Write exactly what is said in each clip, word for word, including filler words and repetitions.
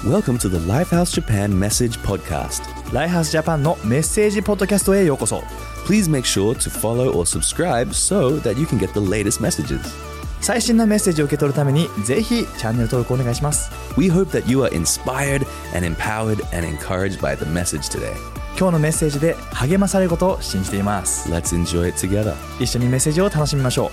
Welcome to the Lifehouse Japan Message Podcast. ライハースジャパンのメッセージポッドキャストへようこそ。 Please make sure to follow or subscribe so that you can get the latest messages. 最新のメッセージを受け取るためにぜひチャンネル登録お願いします。 We hope that you are inspired and empowered and encouraged by the message today. 今日のメッセージで励まされることを信じています。 Let's enjoy it together. 一緒にメッセージを楽しみましょう。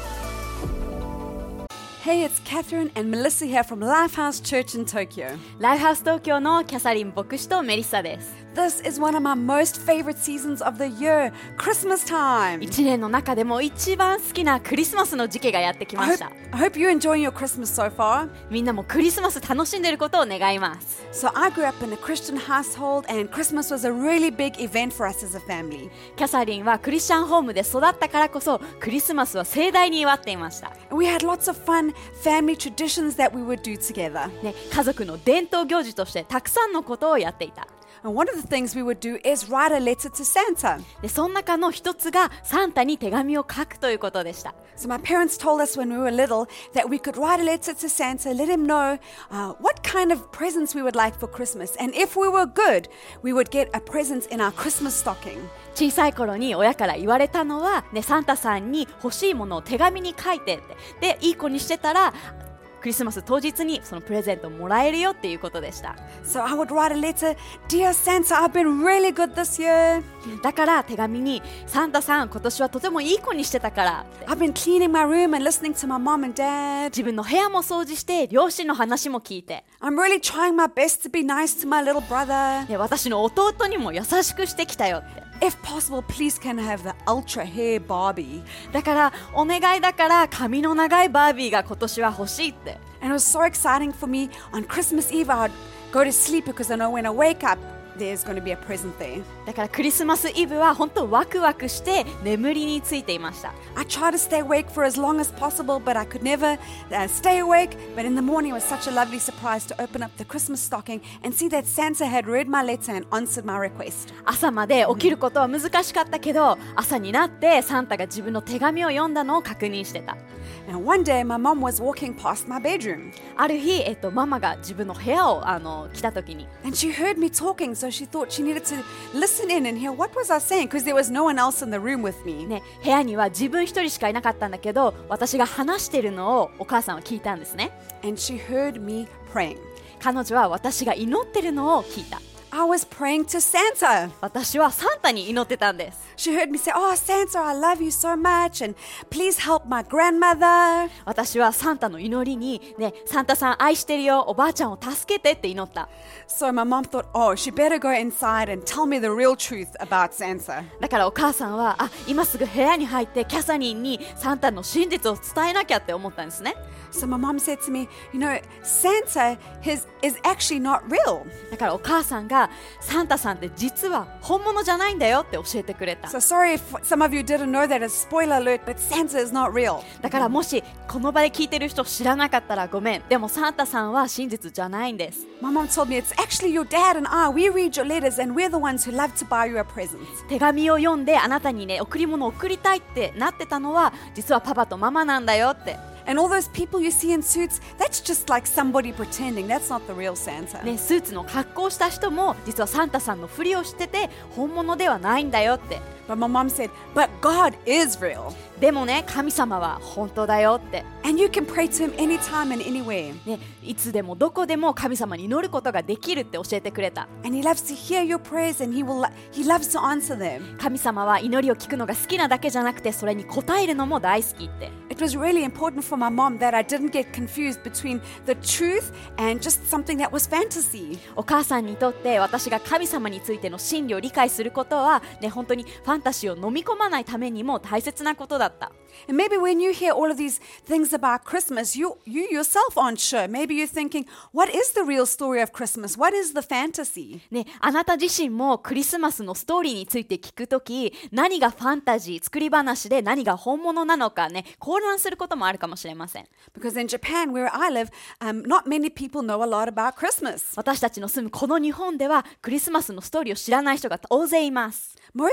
Hey, it's Catherine and Melissa here from Lifehouse Church in Tokyo. ライフハウス東京のキャサリン牧師とメリッサです。 This is one of my most favorite seasons of the year, Christmas time. 一年の中でも一番好きなクリスマスの時期がやってきま I し hope, た。 I hope you're enjoying your Christmas so far. みんなもクリスマス楽しんでることを願います。 So I grew up in a Christian household and Christmas was a really big event for us as a family. キャサリンはクリスチャンホームで育ったからこそクリスマスは盛大に祝っていました。 And we had lots of fun family traditions that we would do together. ね、家族の伝統行事としてたくさんのことをやっていた。 And one of the things we would do is write a letter to Santa. でその中の一つがサンタに手紙を書くということでした。 So my parents told us when we were little that we could write a letter to Santa, let him know uh, what kind of presents we would like for Christmas. And if we were good, we would get a present in our Christmas stocking. 小さい頃に親から言われたのは、ね、サンタさんに欲しいものを手紙に書いてって。で、いい子にしてたらクリスマス当日にそのプレゼントをもらえるよっていうことでした。 So I would write a letter, Dear Santa, I've been really good this year. だから手紙にサンタさん今年はとてもいい子にしてたからって。 I've been cleaning my room and listening to my mom and dad. 自分の部屋も掃除して両親の話も聞いて、 I'm really trying my best to be nice to my little brother. で私の弟にも優しくしてきたよって。 If possible, please can I have the ultra hair Barbie? だからお願いだから髪の長いバービーが今年は欲しいって。 And it was so exciting for me. On Christmas Eve, I would go to sleep because I know when I wake up, there's going to be a present there. だからクリスマスイブは本当ワクワクして眠りについていました。 I tried to stay awake for as long as possible, but I could never uh, stay awake. But in the morning, it was such a lovely surprise to open up the Christmas stocking and see that Santa had read my letter and answered my request. 朝まで起きることは難しかったけど、朝になってサンタが自分の手紙を読んだのを確認してた。 And one day, my mom was walking past my bedroom. ある日、えっと、ママが自分の部屋をあの来た時に、 And she heard me talking, so she thought she needed to listen in and hear what was I saying, because there was no one else in the room with me. ね、部屋には自分一人しかいなかったんだけど、私が話してるのをお母さんは聞いたんですね。 And she heard me praying. 彼女は私が祈ってるのを聞いた。 I was praying to Santa. 私はサンタに祈ってたんです。 She heard me say, Oh, Santa, I love you so much, and please help my grandmother. 私はサンタの祈りに、ね、サンタさん愛してるよ、おばあちゃんを助けてって祈った。 So my mom thought, oh, she better go inside and tell me the real truth about Santa. だからお母さんは、あ、今すぐ部屋に入ってキャサリンにサンタの真実を伝えなきゃって思ったんですね。 So my mom said to me, you know, Santa his, is actually not real. だからお母さんがサンタさんって実は本物じゃないんだよって教えてくれた。 So sorry if some of you didn't know that, as spoiler alert, but Santa is not real. だからもしこの場で聞いてる人知らなかったらごめん。でもサンタさんは真実じゃないんです。 My mom told me it's actually your dad and I. We read your letters and we're the ones who love to buy you a present. 手紙を読んであなたにね贈り物を贈りたいってなってたのは実はパパとママなんだよって。 And all those people you see in suits, that's just like somebody pretending. That's not the real Santa. ね、スーツの格好をした人も実はサンタさんのふりをしてて本物ではないんだよって。 But my mom said, but God is real. でもね、神様は本当だよって。 And you can pray to him anytime and anywhere. ね、いつでもどこでも神様に祈ることができるって教えてくれた。 And he loves to hear your prayers and he will he loves to answer them. 神様は祈りを聞くのが好きなだけじゃなくてそれに応えるのも大好きって。 It was really important for my mom that I didn't get confused between the truth and just something that was fantasy. お母さんにとって私が神様についての真理を理解することは、ね、本当にファンタジーを飲み込まないためにも大切なことだった。 And maybe when you hear all of these things about Christmas, you, you yourself aren't sure. Maybe you're thinking, what is the real story of Christmas? What is the fantasy? ね、あなた自身もクリスマスのストーリーについて聞くとき、何がファンタジー、作り話で何が本物なのかね、混乱することもあるかもしれません。 Because in Japan, where I live, um, not many people know a lot about Christmas. 私たちの住むこの日本ではクリスマスのストーリーを知らない人が大勢います。 Most people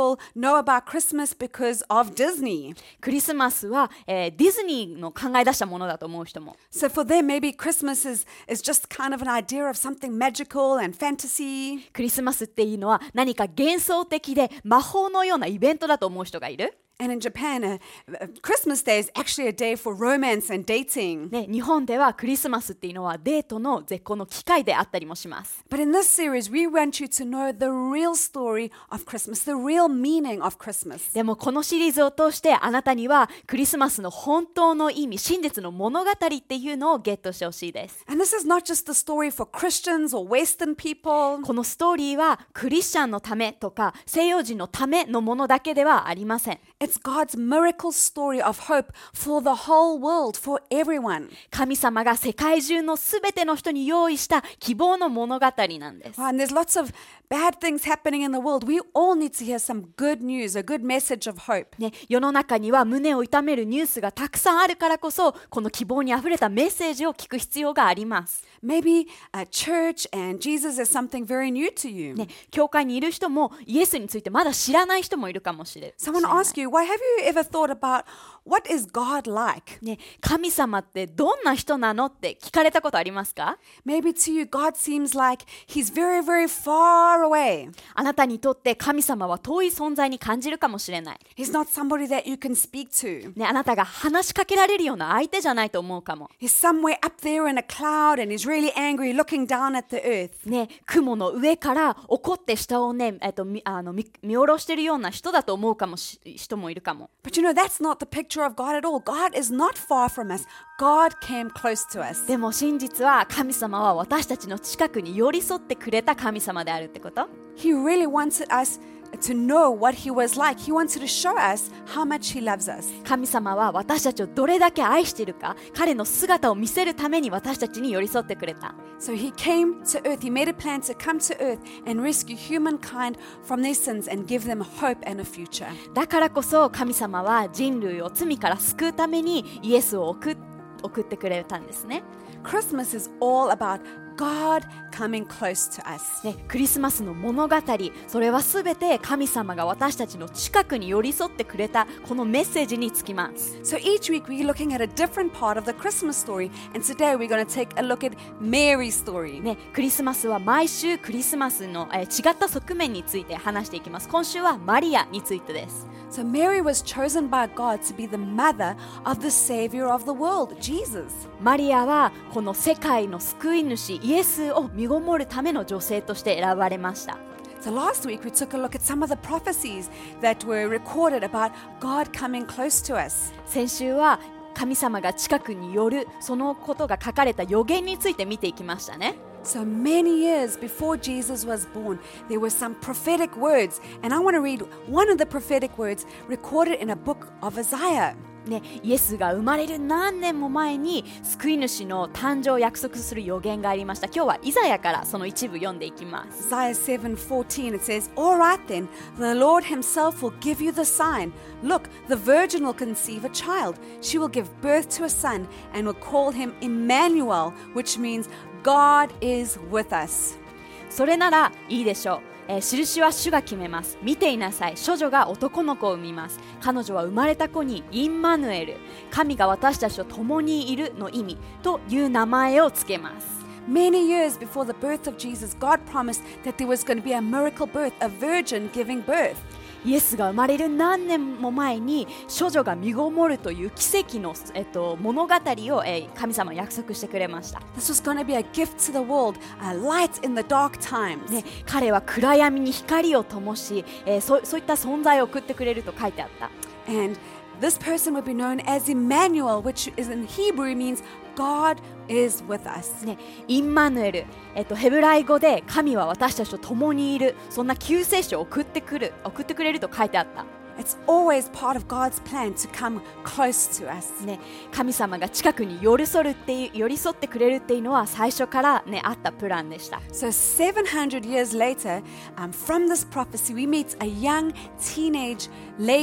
people know about Christmas because of Disney. クリスマスは、えーディズニーの考え出したものだと思う人も。 So for them, maybe Christmas is, is just kind of an idea of something magical and fantasy. クリスマスっていうのは何か幻想的で魔法のようなイベントだと思う人がいる。 And in Japan, uh, uh, Christmas Day is actually a day for romance and dating. ね、日本ではクリスマスっていうのはデートの絶好の機会であったりもします。 But in this series, we want you to know the real story of Christmas, the real meaning of Christmas. でもこのシリーズを通してあなたにはクリスマスの本当の意味、真実の物語っていうのをゲットしてほしいです。 And this is not just the story for Christians or Western people. このストーリーはクリスチャンのためとか西洋人のためのものだけではありません。 It's God's miracle story of hope for the whole world, for everyone. 神様が世界中のすべての人に用意した希望の物語なんです。 And there's lots of bad things happening in the world. We all need to hear some good news, a good message of hope. ね、世の中には胸を痛めるニュースがたくさんあるからこそ、この希望にあふれたメッセージを聞く必要があります。 Maybe a church and Jesus is something very new to you. ね、教会にいる人もイエスについてまだ知らない人もいるかもしれない。 Someone ask you, why have you ever thought about what is God like? ね、神様ってどんな人なのって聞かれたことありますか？ Maybe to you, God seems like he's very, very far away. あなたにとって神様は遠い存在に感じるかもしれない。 He's not somebody that you can speak to. ね、あなたが話しかけられるような相手じゃないと思うかも。 He's somewhere up there in a cloud and he's really angry looking down at the earth. ね、雲の上から怒って下をね、えっと、みあの見見下ろしてるような人だと思うかもし人もいるかも。 But you know, that's not the picture of God at all. God is not far from us. God came close to us. でも真実は神様は私たちの近くに寄り添ってくれた神様であるってこと。 He really wanted us to know what he was like. He wanted to show us how much he loves us. 神様は私たちをどれだけ愛しているか、彼の姿を見せるために私たちに寄り添ってくれた。 So he came to earth. He made a plan to come to earth and rescue humankind from their sins and give them hope and a future. だからこそ神様は人類を罪から救うためにイエスを送っ送ってくれたんですね。 Christmas is all about God coming close to us. ね、クリスマスの物語、それはすべて神様が私たちの近くに寄り添ってくれたこのメッセージにつきます。 So each week we're looking at a different part of the Christmas story, and today we're going to take a look at Mary's story. ね、クリスマスは毎週クリスマスの、えー、違った側面について話していきます。今週はマリアについてです。 So Mary was chosen by God to be the mother of the Savior of the world, Jesus. マリアはこの世界の救い主イエスを身ごもるための女性として選ばれました。 So last week we took a look at some of the prophecies that were recorded about God coming close to us. 先週は神様が近くに寄るそのことが書かれた予言について見ていきましたね。 So many years before Jesus was born, there were some prophetic words, and I want to read one of the prophetic words recorded in a book of Isaiah. ね、イエスが生まれる何年も前に救い主の誕生を約束する予言がありました。今日はイザヤからその一部読んでいきます。 Isaiah seven fourteen, it says, All right then, the Lord himself will give you the sign. Look, the virgin will conceive a child. She will give birth to a son and will call him Emmanuel, which means God is with us. それならいいでしょう。えー、印は主が決めます。見ていなさい。処女が男の子を産みます。彼女は生まれた子にインマヌエル、神が私たちと共にいるの意味という名前をつけます。 Many years before the birth of Jesus, God promised that there was going to be a miracle birth, a virgin giving birth. イエスが生まれる何年も前に処女が身ごもるという奇跡の、えっと、物語を、えー、神様は約束してくれました。 This was going to be a gift to the world, a light in the dark times. ね、彼は暗闇に光を灯し、えー、そ, そういった存在を送ってくれると書いてあった。 And this person would be known as Emmanuel, which is in Hebrew means God is with us. ね、インマヌエル、えっと、ヘブライ語で神は私たちと共にいる、そんな救世主を送ってくる、送ってくれると書いてあった。 It's always part of God's plan to come close to us. ね、神様が近くに寄り添うっていう、寄り添ってくれるっていうのは最初からねあったプランでした。 So seven hundred years later, um, from this prophecy, we meet a young teenage lady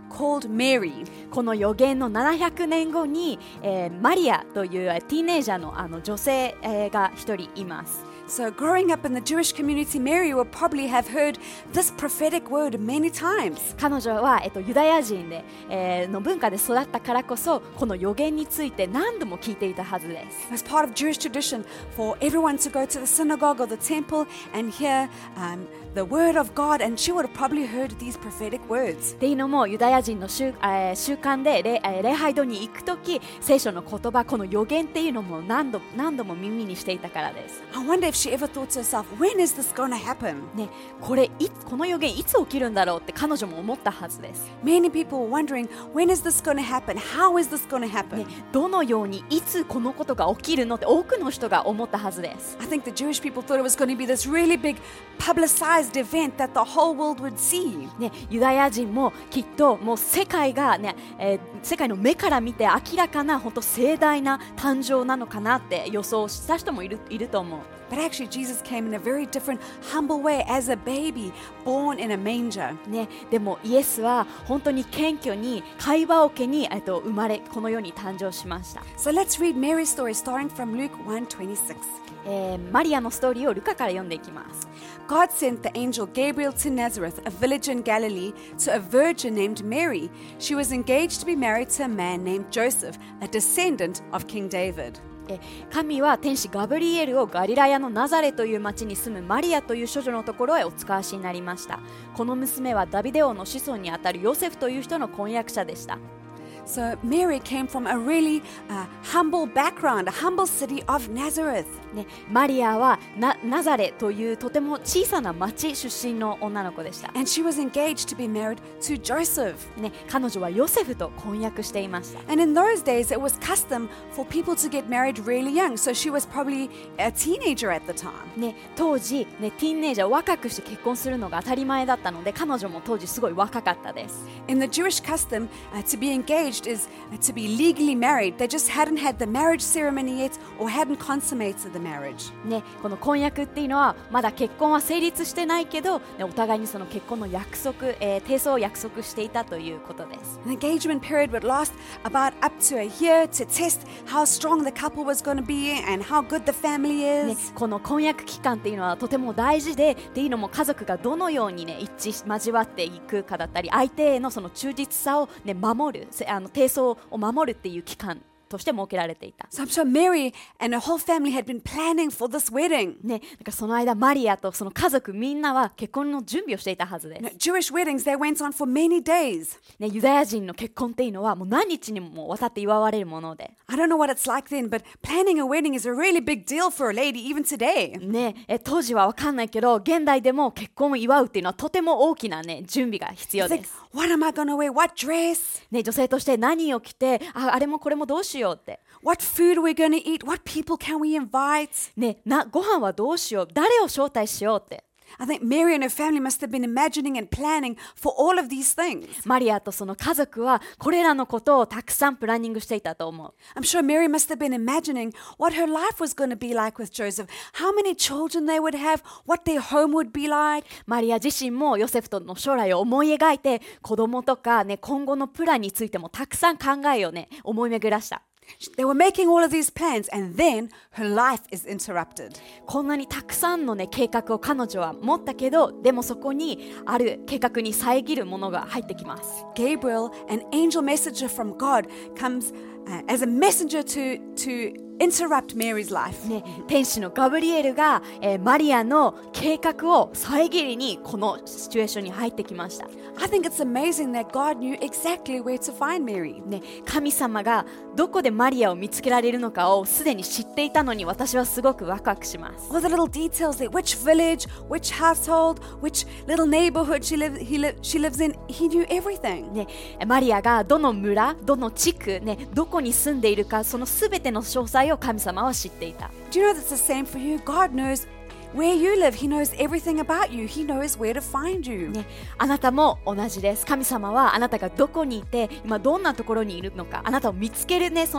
called Mary. この預言のななひゃくねんごに、えーマリアというティーネイジャーの、あの女性、えーが一人います。 So, growing up in the Jewish community, Mary would probably have heard this prophetic word many times. 彼女は、えっと、ユダヤ人で、えーの文化で育ったからこそこの預言について何度も聞いていたはずです。 It was part of Jewish tradition for everyone to go to the synagogue or the temple and hear um, the word of God, and she would have probably heard these prophetic words. っていうのもユダヤ人の 習,、えー、習慣で 礼,、えー、礼拝堂に行くとき聖書の言葉この預言っていうのも何度何度も耳にしていたからです。 I wonder if she ever thought to herself, when is this going to happen? ね、これいこの預言いつ起きるんだろうって彼女も思ったはずです。 Many people were wondering, when is this going to happen? How is this going to happen? ね、どのようにいつこのことが起きるのって多くの人が思ったはずです。 I think the Jewish people thought it was going to be this really big publicized event that the whole world would see. ね、ユダヤ人もきっともう世界が、ねえー、世界の目から見て明らかな本当盛大な誕生なのかなって予想した人もいる、いると思う。 But actually, Jesus came in a very different, humble way as a baby born in a manger. ね、でもイエスは本当に謙虚に会話桶に、えっと、生まれこの世に誕生しました。 So let's read Mary's story starting from Luke one twenty-six. えーマリアのストーリーをルカから読んでいきます。 God sent the angel Gabriel to Nazareth, a village in Galilee, to a virgin named Mary. She was engaged to be married to a man named Joseph, a descendant of King David. え神は天使ガブリエルをガリラヤのナザレという町に住むマリアという処女のところへお使わしになりました。この娘はダビデ王の子孫にあたるヨセフという人の婚約者でした。 So Mary came from a really uh, humble background, a humble city of Nazareth. ね、マリアは ナ, ナザレというとても小さな町出身の女の子でした。 And she was engaged to be married to Joseph. ね、彼女はヨセフと婚約していました。 And in those days, it was custom for people to get married really young. So she was probably a teenager at the time. ね、当時、ね、ティーンエイジャーを若くして結婚するのが当たり前だったので彼女も当時すごい若かったです。 In the Jewish custom, uh, to be engaged is uh, to be legally married. They just hadn't had the marriage ceremony yet or hadn't consummated the marriage. ね、この婚約っていうのはまだ結婚は成立してないけど、ね、お互いにその結婚の約束、えー、締結を約束していたということです。 An engagement period would last about up to a year to test how strong the couple was going to be and how good the family ね、 is. この婚約期間っていうのはとても大事で、っていうのも家族がどのように、ね、一致交わっていくかだったり相手へのその忠実さを、ね、守るあの締結を守るっていう期間として設けられていた。 So I'm sure Mary and her whole family had been planning for this wedding. ね、だからその間マリアとその家族みんなは結婚の準備をしていたはずです。 You know, Jewish weddings, they went on for many days. ね、ユダヤ人の結婚っていうのはもう何日にもわたって祝われるもので、 I don't know what it's like then, but planning a wedding is a really big deal for a lady even today. ね、え当時は分かんないけど現代でも結婚を祝うっていうのはとても大きな、ね、準備が必要 It's で like, す。 what am I going to wear? What dress? ね、女性として何を着て あ, あれもこれもどうしようって、 What food are we going to eat? What people can we invite? ね、なご飯はどうしよう、誰を招待しようって、 I think Mary and her family must have been imagining and planning for all of these things. マリアとその家族はこれらのことをたくさんプランニングしていたと思う。 I'm sure Mary must have been imagining what her life was going to be like with Joseph, how many children they would have, what their home would be like. マリア自身もヨセフとの将来を思い描いて子供とか、ね、今後のプランについてもたくさん考えを、ね、思い巡らした。 They were making all of these plans, and then her life is interrupted. こんなにたくさんの、ね、計画を彼女は持ったけど、でもそこにある計画に遮るものが入ってきます。 Gabriel, an angel messenger from God, comes uh, as a messenger to, to interrupt Mary's life. ね、天使のガブリエルが、えーマリアの計画を遮りにこのシチュエーションに入ってきました。 I think it's amazing that God knew exactly where to find Mary. ね、神様がどこでマリアを見つけられるのかをすでに知っていたのに私はすごくワクワクします。 All the little details there, which village, which household, which little neighborhood she, live, he li- she lives in, he knew everything. ね、マリアがどの村、どの地区、ね、どこに住んでいるか、そのすべての詳細を神様は知っていた。 Do you know that's the same for you? God knows where you live. He knows everything about you. He knows where to find you. ね、あなたも同じです。神様はあなたがどこにいて今どんなところにいるのか、あなたを見つける、ね、その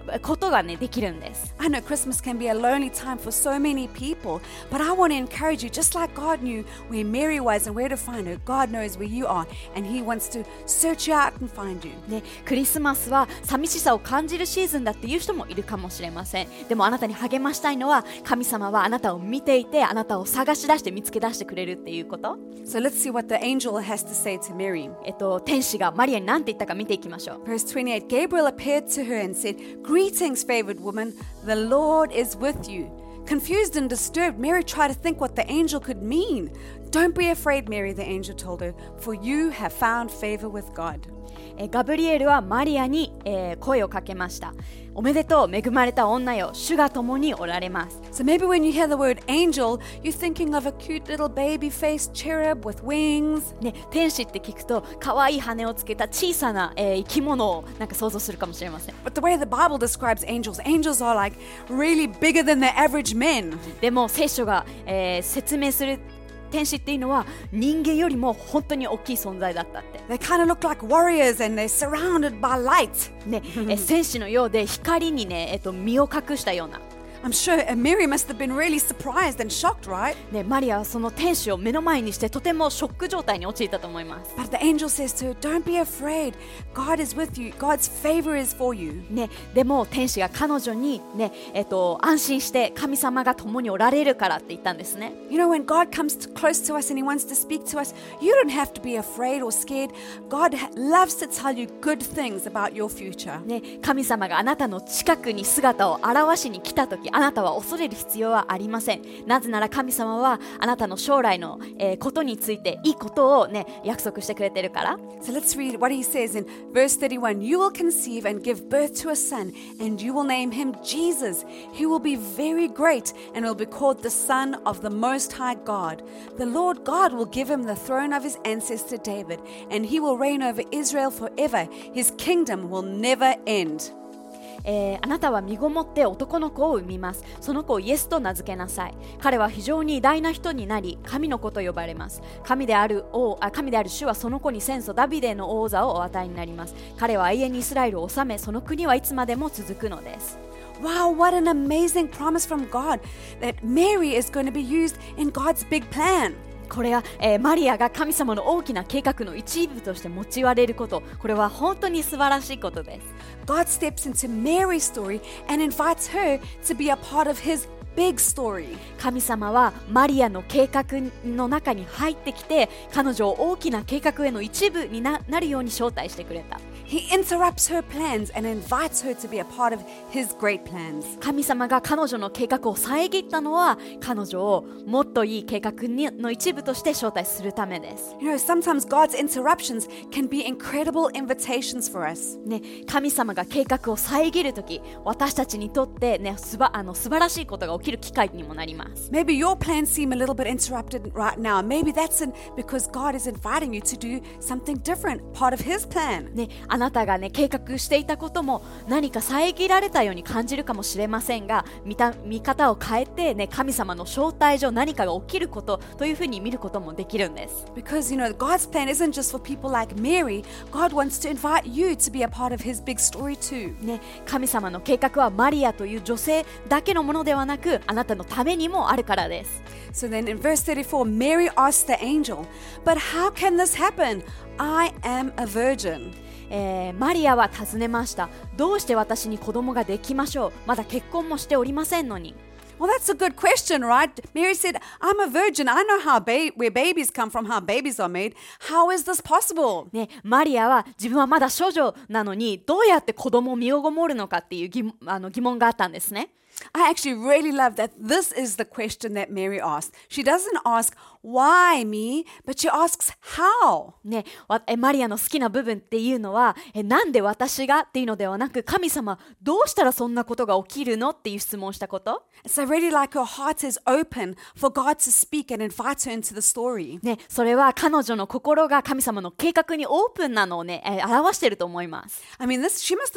ことがねできるんです。 I know Christmas can be a lonely time for so many people, but I want to encourage you, just like God knew where Mary was and where to find her, God knows where you are, and He wants to search you out and find you. ね、クリスマスは寂しさを感じるシーズンだっていう人もいるかもしれません。でもあなたに励ましたいのは、神様はあなたを見ていて、あなたを探し出して見つけ出してくれるっていうこと。 So let's see what the angel has to say to Mary. えっと、天使がマリアに何て言ったか見ていきましょう。 Verse twenty-eight, Gabriel appeared to her and said, Greetings, favored woman, the Lord is with you. Confused and disturbed, Mary tried to think what the angel could mean. Don't be afraid, Mary, the angel told her, for you have found favor with God. えガブリエルはマリアに、えー、声をかけました。おめでとう、恵まれた女よ、主が共におられます。 So maybe when you hear the word angel, you're thinking of a cute little baby-faced cherub with wings. ね、天使って聞くと可愛い羽をつけた小さな、えー、生き物をなんか想像するかもしれません。 But the way the Bible describes angels, angels are like really bigger than the average men. でも聖書が、えー、説明する天使っていうのは人間よりも本当に大きい存在だったって。 They kind of look like warriors and they're surrounded by light. ね、え戦士のようで光にね、えっと、身を隠したような。 I'm sure Mary must have been really surprised and shocked, right? ね、マリアはその天使を目の前にしてとてもショック状態に陥ったと思います。 But the angel says to her, Don't be afraid. God is with you. God's favor is for you. ね、でも天使が彼女に、ねえっと、安心して神様が共におられるからって言ったんですね。 You know, when God comes to, close to us and He wants to speak to us, you don't have to be afraid or scared. God ha- loves to tell you good things about your future. ね、神様があなたの近くに姿を現しに来たとき、あなたは恐れる必要はありません。なぜなら神様はあなたの将来の、えー、ことについていいことを、ね、約束してくれてるから。 So let's read what He says in verse thirty-one. You will conceive and give birth to a son, and you will name him Jesus. He will be very great and will be called the Son of the Most High God. The Lord God will give him the throne of his ancestor David, and he will reign over Israel forever. His kingdom will never end. えー、あなたは身ごもって男の子を産みます。その子をイエスと名付けなさい。彼は非常に偉大な人になり、神の子と呼ばれます。神である王、あ、神である主はその子に先祖ダビデの王座をお与えになります。彼は永遠にイスラエルを治め、その国はいつまでも続くのです。 Wow, what an amazing promise from God that Mary is going to be used in God's big plan. これは、えー、マリアが神様の大きな計画の一部として用いられること、これは本当に素晴らしいことです。 God steps into Mary's story and invites her to be a part of His big story. 神様はマリアの計画の中に入ってきて、彼女を大きな計画への一部に な, なるように招待してくれた。 He interrupts her plans and invites her to be a part of His great plans. 神様が彼女の計画を遮ったのは、彼女をもっといい計画にの一部として招待するためです。 You know, sometimes God's interruptions can be incredible invitations for us. ね、神様が計画を遮るとき、私たちにとって、ね、すばあの素晴らしいことが起きる機会にもなります。 Maybe your plans seem a little bit interrupted right now. Maybe that's in, because God is inviting you to do something different, part of His plan. ね、あなたが、ね、計画していたことも何か遮られたように感じるかもしれませんが、見た見方を変えて、ね、神様の招待上何かが起きることというふうに見ることもできるんです。 Because, you know, God's plan isn't just for people like Mary. God wants to invite you to be a part of His big story too. ね、神様の計画はマリアという女性だけのものではなく、あなたのためにもあるからです。 So then in verse thirty-four, Mary asked the angel, But how can this happen? I am a virgin. えー、マリアは尋ねました。どうして私に子供ができましょう。まだ結婚もしておりませんのに。 Well, that's a good question, right? Mary said, I'm a virgin. I know how ba- where babies come from, how babies are made. How is this possible? ね、マリアは自分はまだ少女なのにどうやって子供を身をごもるのかっていう 疑, あの疑問があったんですね。 I actually really love that this is the question that Mary asked. She doesn't ask, why me? But she asks, how? ね、えマリアの好きな部分っていうのはえなんで私がっていうのではなく、神様どうしたらそんなことが起きるのっていう質問をしたこと。 So I really like her heart is open for God to speak and invite her into the story. ね、それは彼女の心が神様の計画にオープンなのをね、え表していると思います。 I mean, this she must have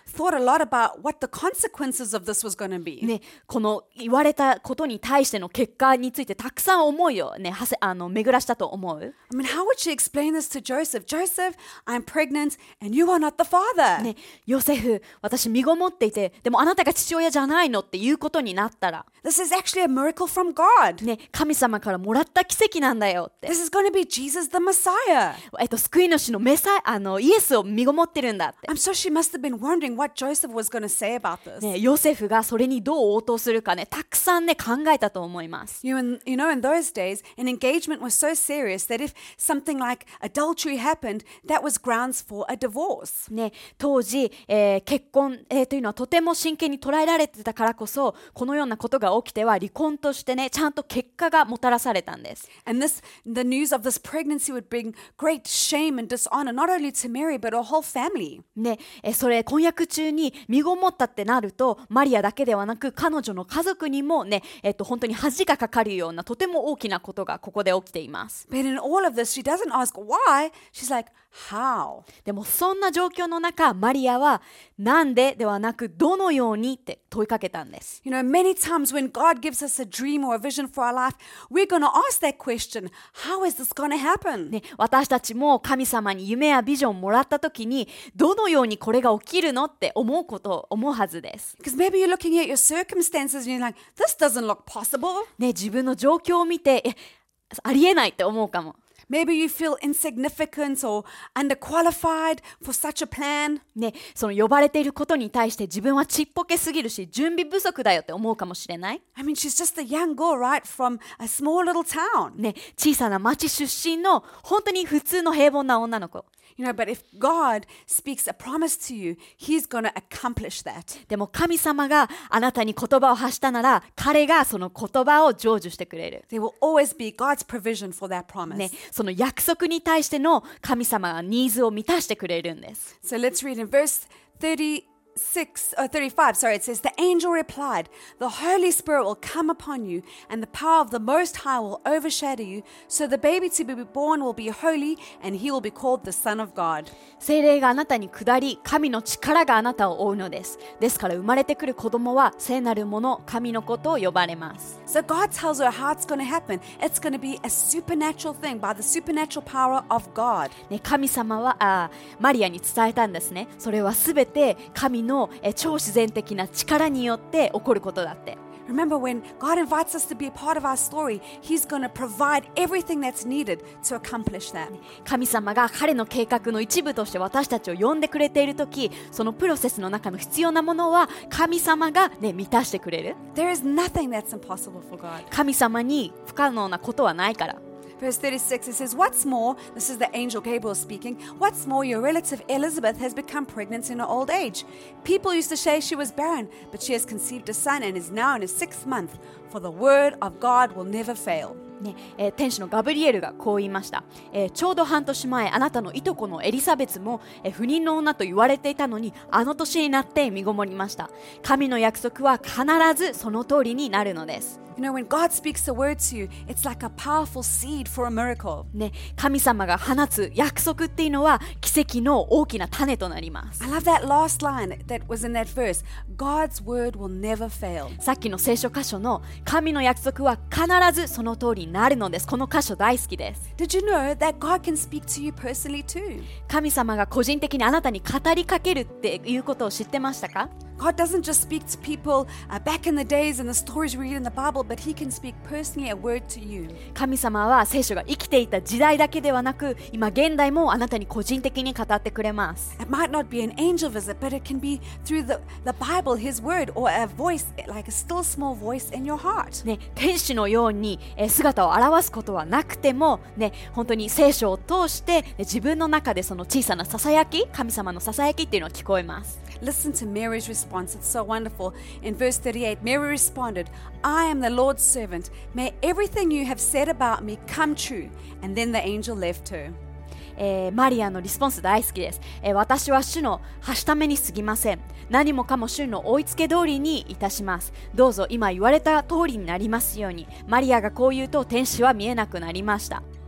thought a lot about what the consequences of this was going to be. ね、この言われたことに対しての結果についてたくさん思いをね、はせあの巡らしたと思う。 I mean, how would she explain this to Joseph? Joseph, I'm pregnant and you are not the father. ね、ヨセフ、私身ごもっていて、でもあなたが父親じゃないのっていうことになったら、 This is actually a miracle from God. ね、神様からもらった奇跡なんだよって。 This is going to be Jesus the Messiah. えっと、救い主のメサイあのイエスを身ごもってるんだって。 I'm sure she must have been wondering what Joseph was going to say about this. ね、ヨセフがそれにどう応答するかね、たくさんね考えたと思います。 You, in, you know, in those days, an engagement was so serious that if something like adultery happened, that was grounds for a divorce. ね、当時、えー結婚、えーというのはとても真剣に捉えられてたからこそ、このようなことが起きては離婚としてね、ちゃんと結果がもたらされたんです。 And this, the news of this pregnancy would bring great shame and dishonor, not only to Mary, but her whole family. ね、えそれ婚約中に身ごもったってなると、マリアだけではなく彼女の家族にもね、えっと、本当に恥がかかるようなとても大きなことがここで起きています。 But in all of this, she doesn't ask why. She's like, how? でもそんな状況の中、マリアはなんでではなくどのようにって問いかけたんです。 You know, many times when God gives us a dream or a vision for our life, we're going to ask that question, how is this going to happen? ね、私たちも神様に夢やビジョンをもらった時にどのようにこれが起きるのって思うことを思うはずです。 Because maybe you're looking at your circumstances and you're like, this doesn't look possible. ね、自分の状況を見てえありえないって思うかも。 Maybe you feel insignificant or underqualified for such a plan. ね、その呼ばれていることに対して自分はちっぽけすぎるし準備不足だよって思うかもしれない。 I mean, she's just a young girl, right, from a small little town. ね、小さな町出身の本当に普通の平凡な女の子。 You know, but if God speaks a promise to you, He's going to accomplish that. でも神様があなたに言葉を発したなら彼がその言葉を成就してくれる。 There will always be God's provision for that promise. ね、その約束に対しての神様がニーズを満たしてくれるんです。 So let's read in verse thirty-six, or thirty-five, sorry, it says, The angel replied, The Holy Spirit will come upon you, and the power of the Most High will overshadow you, so the baby to be born will be holy, and he will be called the Son of God. 聖霊があなたに下り、神の力があなたを覆うのです。ですから生まれてくる子供は聖なるもの、神の子と呼ばれます。 So God tells her how it's going to happen. It's going to be a supernatural thing by the supernatural power of God. ね、神様はあマリアに伝えたんですね。それはすべて神のえ超自然的な力によって起こることだって。 Remember, when God invites us to be a part of our story, He's going to provide everything that's needed to accomplish that. 神様が彼の計画の一部として私たちを呼んでくれているとき、そのプロセスの中の必要なものは神様が、ね、満たしてくれる。 There is nothing that's impossible for God. 神様に不可能なことはないから。 Verse thirty-six, it says, What's more, this is the angel Gabriel speaking, what's more, your relative Elizabeth has become pregnant in her old age. People used to say she was barren, but she has conceived a son and is now in his sixth month, for the word of God will never fail. ねえー、天使のガブリエルがこう言いました、えー、ちょうど半年前あなたのいとこのエリザベスも、えー、不妊の女と言われていたのにあの年になって身ごもりました。神の約束は必ずその通りになるのです。 You know, when God speaks a word to you, it's like a powerful seed for a miracle. ね、神様が放つ約束っていうのは奇跡の大きな種となります。 I love that last line that was in that verse. God's word will never fail. さっきの聖書箇所の神の約束は必ずその通りになるのです。この箇所大好きです。 Did you know that God can speak to you personally too? 神様が個人的にあなたに語りかけるっていうことを知ってましたか？ God doesn't just speak to people uh, back in the days and the stories we read in the Bible, but He can speak personally a word to you. 神様は聖書が生きていた時代だけではなく、今現代もあなたに個人的に語ってくれます。 It might not be an angel visit, but it can be through the, the Bible, His word, or a voice, like a still small voice in your heart. ね、天使のように、えー、姿を現すことはなくても、ね、本当に聖書を通して、ね、自分の中でその小さなささやき、神様のささやきっていうのが聞こえます。 Listen to Mary's response. It's so wonderful. In verse thirty-eight, Mary responded, I am the Lord's servant. May everything you have said about me come true. And then the angel left her. えー、マリアのリスポンス大好きです、えー、私は主のはしために過ぎません。何もかも主の追いつけ通りにいたします。どうぞ今言われた通りになりますように。マリアがこう言うと天使は見えなくなりました。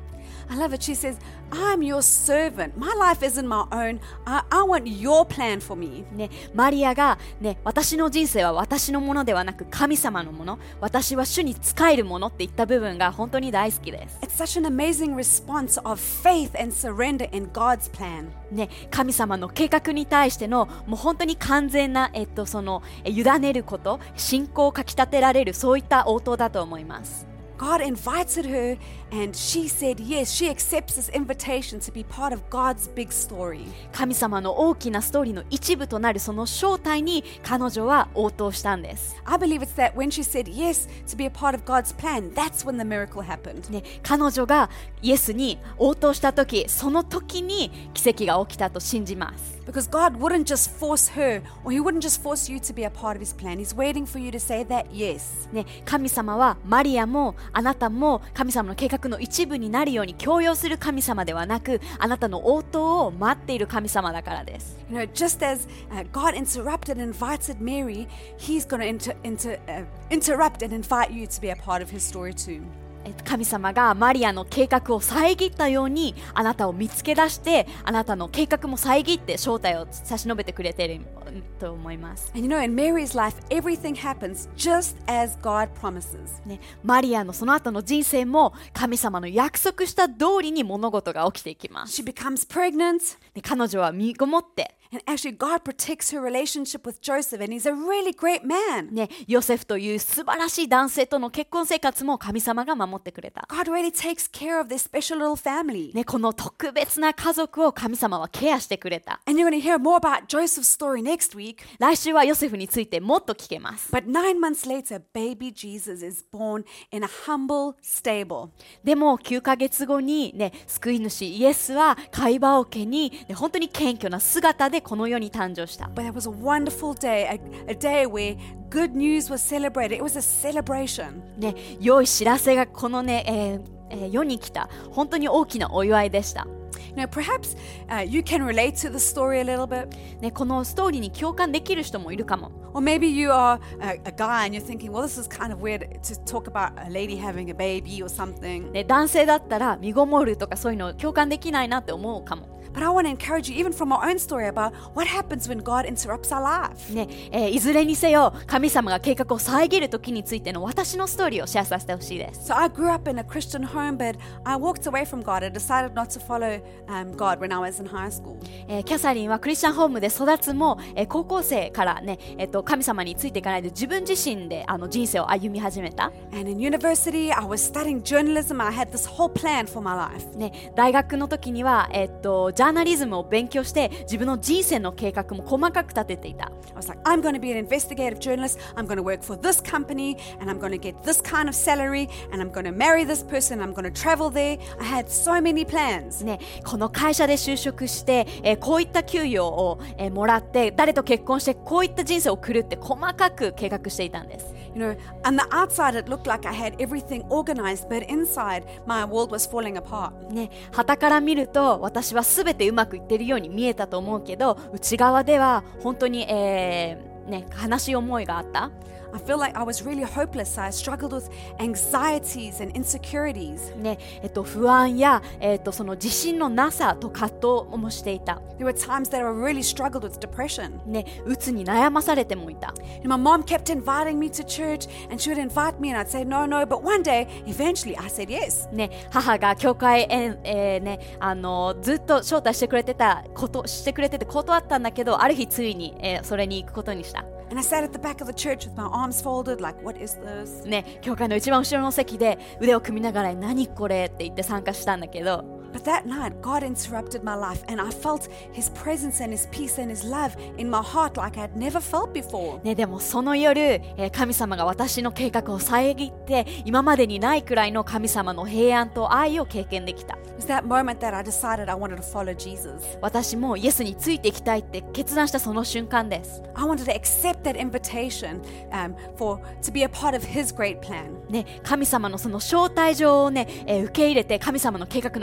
I love it. She says, I'm your servant. My life isn't my own. I, I want your plan for me. ね、マリアが、ね、私の人生は私のものではなく神様のもの、私は主に仕えるものって言った部分が本当に大好きです。 It's such an amazing response of faith and surrender in God's plan. ね、神様の計画に対してのもう本当に完全な、えっと、そのえ委ねること、信仰をかきたてられる、そういった応答だと思います。 God invited her and she said yes. She accepts this invitation to be part of God's big story. 神様の大きなストーリーの一部となるその正体に彼女は応答したんです。 I believe it's that when she said yes to be a part of God's plan, that's when the miracle happened. ね、彼女がイエスに応答した時、その時に奇跡が起きたと信じます。 Because God wouldn't just force her, or He wouldn't just force you to be a part of His plan. He's waiting for you to say that yes. ね、神様はマリアもあなたも神様の計画の一部になるように強要する神様ではなく、あなたの応答を待っている神様だからです。 You know, just as uh, God interrupted and invited Mary, He's going to inter- inter- uh, interrupt and invite you to be a part of His story too. 神様がマリアの計画を遮ったようにあなたを見つけ出して、あなたの計画も遮って正体を差し伸べてくれていると思います。 And you know, in Mary's life, everything happens just as God promises. ね、マリアのその後の人生も神様の約束した通りに物事が起きていきます。 She becomes pregnant. で、彼女は身ごもって、 And actually, God protects her relationship with Joseph, and he's a really great man. ね、ヨセフという素晴らしい男性との結婚生活も神様が守ってくれた。 God really takes care of this special little family. ね、この特別な家族を神様はケアしてくれた。 And you're going to hear more about Joseph's story next week. 来週はヨセフについてもっと聞けます。 But nine months later, baby Jesus is born in a humble stable. でもきゅうかげつごに、ね、救い主イエスは貝羽桶に、ね、本当に謙虚な姿でこの世に誕生した。 But it was a wonderful day, a, a day where good news was celebrated. It was a celebration. ね、良い知らせがこのね、えーえー、世に来た本当に大きなお祝いでした。 Now, perhaps uh, you can relate to the story a little bit. ね、このストーリーに共感できる人もいるかも。 Or maybe you are a, a guy and you're thinking, well, this is kind of weird to talk about a lady having a baby or something. ね、男性だったら身ごもるとかそういうの共感できないなって思うかも。 But I want to encourage you, even from our own story, about what happens when God interrupts our life. ねえー、いずれにせよ神様が計画を遮る時についての私のストーリーをシェアさせてほしいです。 So I grew up in a Christian home, but I walked away from God. I decided not to follow um, God when I was in high school. えー、キャサリンはクリスチャンホームで育つも、えー、高校生からね、えー、と神様についていかないで自分自身であの人生を歩み始めた。 And in university, I was studying journalism. I had this whole plan for my life. ね、大学の時には、えー、とジャーナリズムを勉強して自分の人生の計画も細かく立てていた。 I was like, I'm going to be an investigative journalist. I'm going to work for this company, and I'm going to get this kind of salary, and I'm going to marry this person. I'm going to travel there. I had so many plans. ね、この会社で就職して、えー、こういった給与を、えー、もらって誰と結婚してこういった人生を送るって細かく計画していたんです。 You know, on the outside it looked like I had everything organized, but inside my world was falling apart. ね、傍から見ると私は全てうまくいってるように見えたと思うけど、内側では本当に、えーね、悲しい思いがあった。 I feel like I was really hopeless. I struggled with anxieties and insecurities. ね、えっと、不安や、えっと、その自信のなさと葛藤もしていた。 There were times that I really struggled with depression. ね、うつに悩まされてもいた。 And my mom kept inviting me to church, and she would invite me, and I'd say no, no. But one day, eventually, I said yes. ね、母が教会へ、えーね、あのずっと招待してくれてたことしてくれてて断ったんだけど、ある日ついに、えー、それに行くことにした。 And I sat at the back of the church with my arms folded, like, what is this? ね、教会の一番後ろの席で腕を組みながら何これって言って参加したんだけど。 But that night, God interrupted my life, and I felt His presence and His peace and His love in my heart like I had never felt before. ね、でもその夜、えー、神様が私の計画を遮って今までにないくらいの神様の平安と愛を経験できた。 It was that moment that I decided I wanted to follow Jesus. 私もイエスについていきたいって決断したその瞬間です。 I wanted to accept that invitation um, for to be a part of His great plan. ね、神様のその招待状をね、えー、受け入れて神様の計画の一部に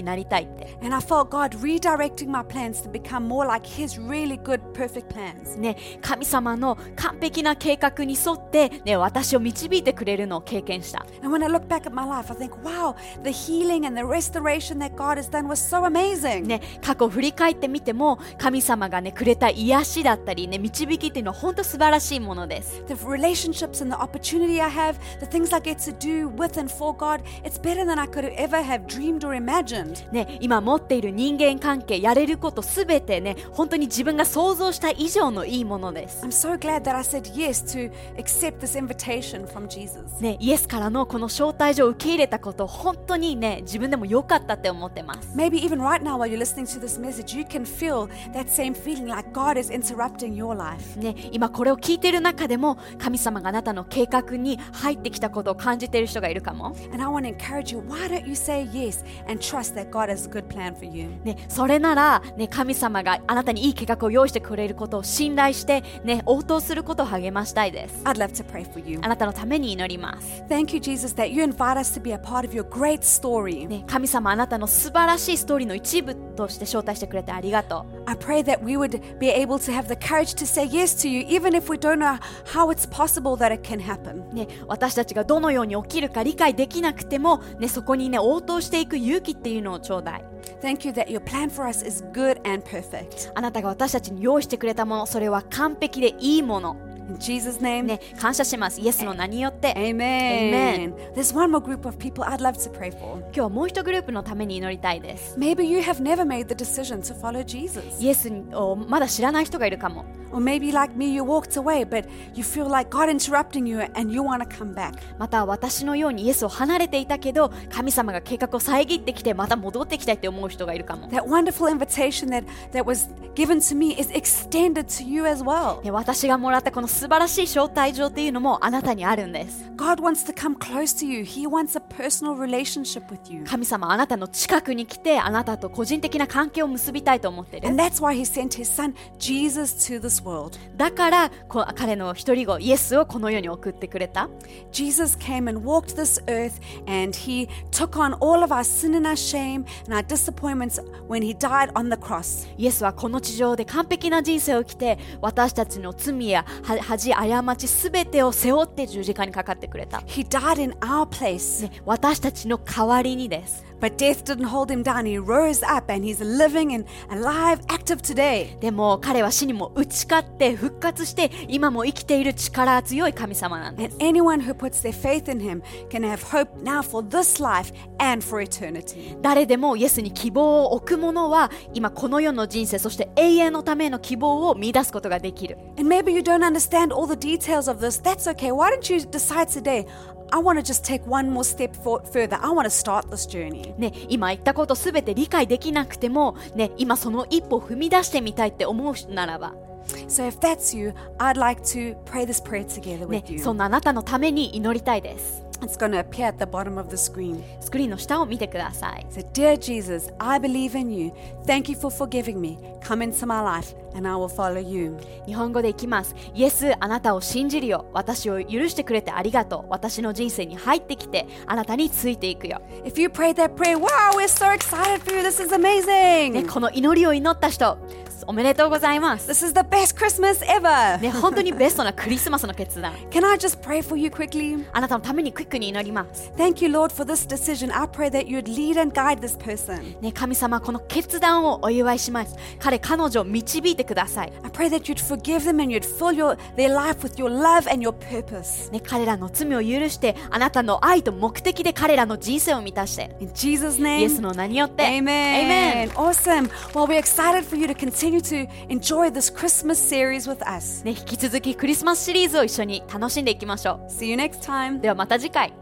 なりたいって。 And I felt God redirecting my plans to become more like His really good, perfect plans. ね、神様の完璧な計画に沿って、ね、私を導いてくれるのを経験した。 And when I look back at my life, I think, wow, the healing and the restoration that God has done was so amazing. ね、過去を振り返ってみても、神様がね、くれた癒しだったり、ね、導きっていうのは本当素晴らしいものです。 The relationships and the opportunity I have, the things I get to do with and for God, it's better than I could ever have dreamed or imagined. ね、今持っている人間関係、やれることすべてね、本当に自分が想像した以上のいいものです。 I'm so glad that I said yes to accept this invitation from Jesus. ね、イエスからのこの招待状を受け入れたこと、本当にね、自分でも良かったって思ってます。 Maybe even right now while you're listening to this message, you can feel that same feeling like God is interrupting your life. ね、今これを聞いている中でも、神様があなたの計画に入ってきたことを感じている人がいるかも。 And I want to encourage you, why don't you say yes and trust that God has a good plan for you? ね、それなら、ね、神様があなたにいい計画を用意してくれることを信頼して、ね、応答することを励ましたいです。 I'd love to pray for you. あなたのために祈ります。 Thank you, Jesus, that you invite us to be a part of your great story. ね、神様あなたの素晴らしいストーリーの一部として招待してくれてありがとう。 I pray that we would be able to have the courage to say yes to you, even if we don't know how it's possible that it can happen. ね、私たちがどのように起きるか理解できなくても、ね、そこにね、応答していく勇気っていうのをちょうだい。 Thank you that your plan for us is good and perfect. あなたが私たちに用意してくれたもの、それは完璧でいいもの。 In Jesus' name, ね、感謝します。イエスの名によって。 Amen. There's one more group of people I'd love to pray for. 今日はもう一グループのために祈りたいです。 Maybe you have never made the decision to follow Jesus. イエスをまだ知らない人がいるかも。 Or maybe like me, you walked away, but you feel like God interrupting you and you want to come back. また私のようにイエスを離れていたけど、神様が計画を遮ってきてまた戻ってきたいって思う人がいるかも。 That wonderful invitation that, that was given to me is extended to you as well. ね、私がもらったこの素晴らしい招待状っていうのもあなたにあるんです。 God wants to come close to you. He wants a personal relationship with you. 神様あなたの近くに来て、あなたと個人的な関係を結びたいと思っている。 And that's why He sent His Son Jesus to this world. だからこ彼の一人子イエスをこの世に送ってくれた。 Jesus came and walked this earth and He took on all of our sin and our shame and our disappointments when He died on the cross. イエスはこの地上で完璧な人生を生きて、私たちの罪や恥、過ちすべてを背負って十字架にかかってくれた。 He died in our place. ね、私たちの代わりにです。 But death didn't hold him down. He rose up and he's living and alive, active today. でも彼は死にも打ち勝って復活して、今も生きている力強い神様なんです。 And anyone who puts their faith in him can have hope now for this life and for eternity. 誰でもイエスに希望を置く者は、今この世の人生、そして永遠のための希望を見出すことができる。 And maybe you don't understand all the details of this. That's okay. Why don't you decide today, I want to just take one more step for, further. I want to start this journey. ね、今言ったことすべて理解できなくても、ね、今その一歩を踏み出してみたいって思う人ならば、 So if that's you, I'd like to pray this prayer together ね with、you. そんなあなたのために祈りたいです。 It's going to appear at the bottom of the screen. スクリーンの下を見てください。 So, dear Jesus, I believe in you. Thank you for forgiving me. Come into my life and I will follow you. 日本語でいきます。イエス、あなたを信じるよ。私を許してくれてありがとう。私の人生に入ってきて、あなたについていくよ。 If you prayed that prayer, wow, we're so excited for you. This is amazing. ね、この祈りを祈った人、おめでとうございます。 This is the best Christmas ever. ね、本当にベストなクリスマスの決断。 Can I just pray for you quickly? あなたのためにクイックに祈ります。 Thank you, Lord, for this decision. I pray that you'd lead and guide this person. ね、神様、この決断をお祝いします。彼、彼女を導いてください。 I pray that you'd forgive them and you'd fill your, their life with your love and your purpose. ね、彼らの罪を許して、あなたの愛と目的で彼らの人生を満たして。 In Jesus' イエ name. スの名によって。 Amen. Awesome. Well, we're excited for you to continue to enjoy this Christmas series with us. ね、引き続きクリスマスシリーズを一緒に楽しんでいきましょ See you next time. う。ではまた次回。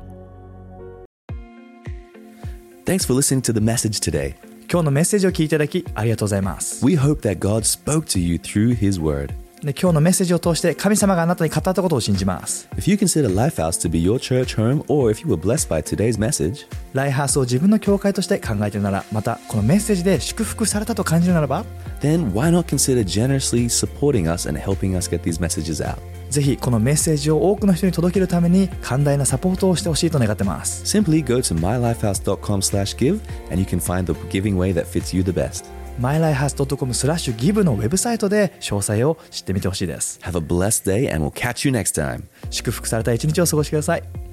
Thanks for listening to the message today. 今日のメッセージを聞いていただきありがとうございます。 We hope that God spoke to you through His Word. で今日のメッセージを通して神様があなたに語ったことを信じます。 If you consider Lifehouse to be your church home, or if you were blessed by today's message, ライハースを自分の教会として考えているなら、またこのメッセージで祝福されたと感じるならば、 then why not consider generously supporting us and helping us get these messages out? ぜひこのメッセージを多くの人に届けるために寛大なサポートをしてほしいと願ってます。 Simply go to my life house dot com slash give and you can find the giving way that fits you the best. マイライハウス ドットコム スラッシュ ギブ のウェブサイトで詳細を知ってみてほしいです。 Have a blessed day and we'll catch you next time. 祝福された一日を過ごしてください。